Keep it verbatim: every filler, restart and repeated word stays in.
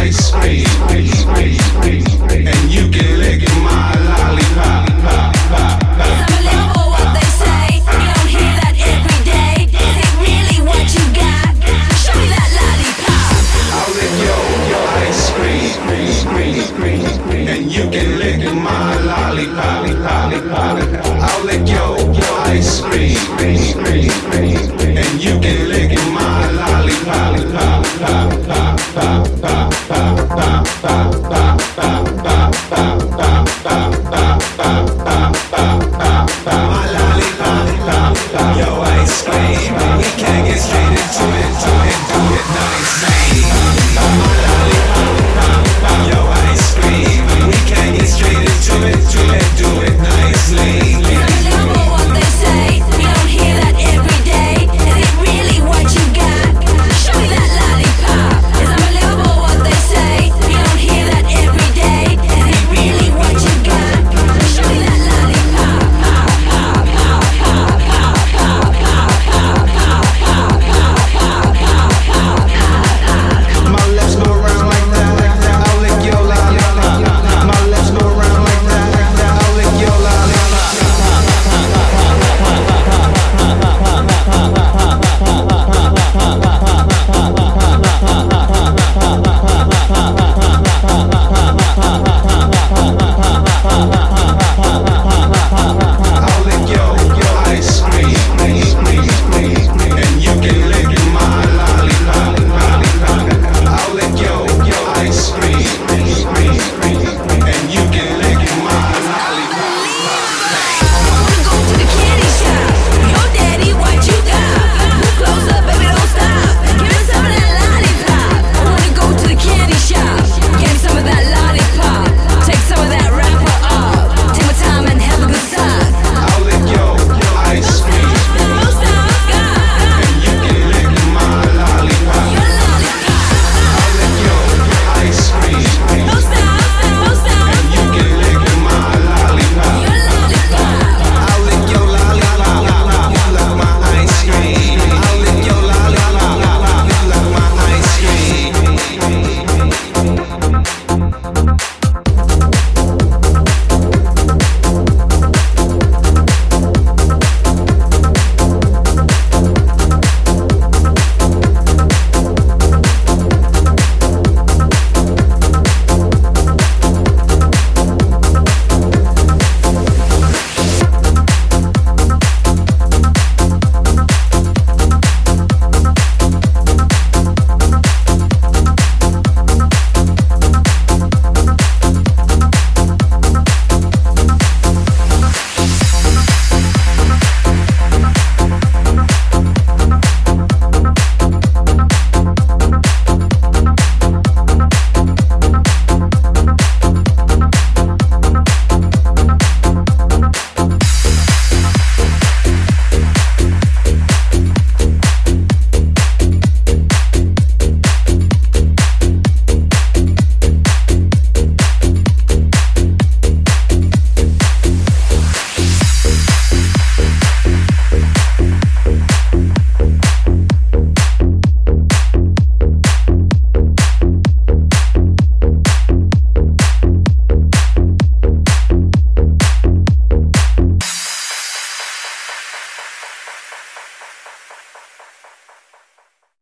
ice cream, and you can lick my lollipop. I'm a little for what they say. You don't hear that every day. Is it really what you got? Show me that lollipop. I'll lick your, your ice cream, and you can lick my lollipop. I'll lick your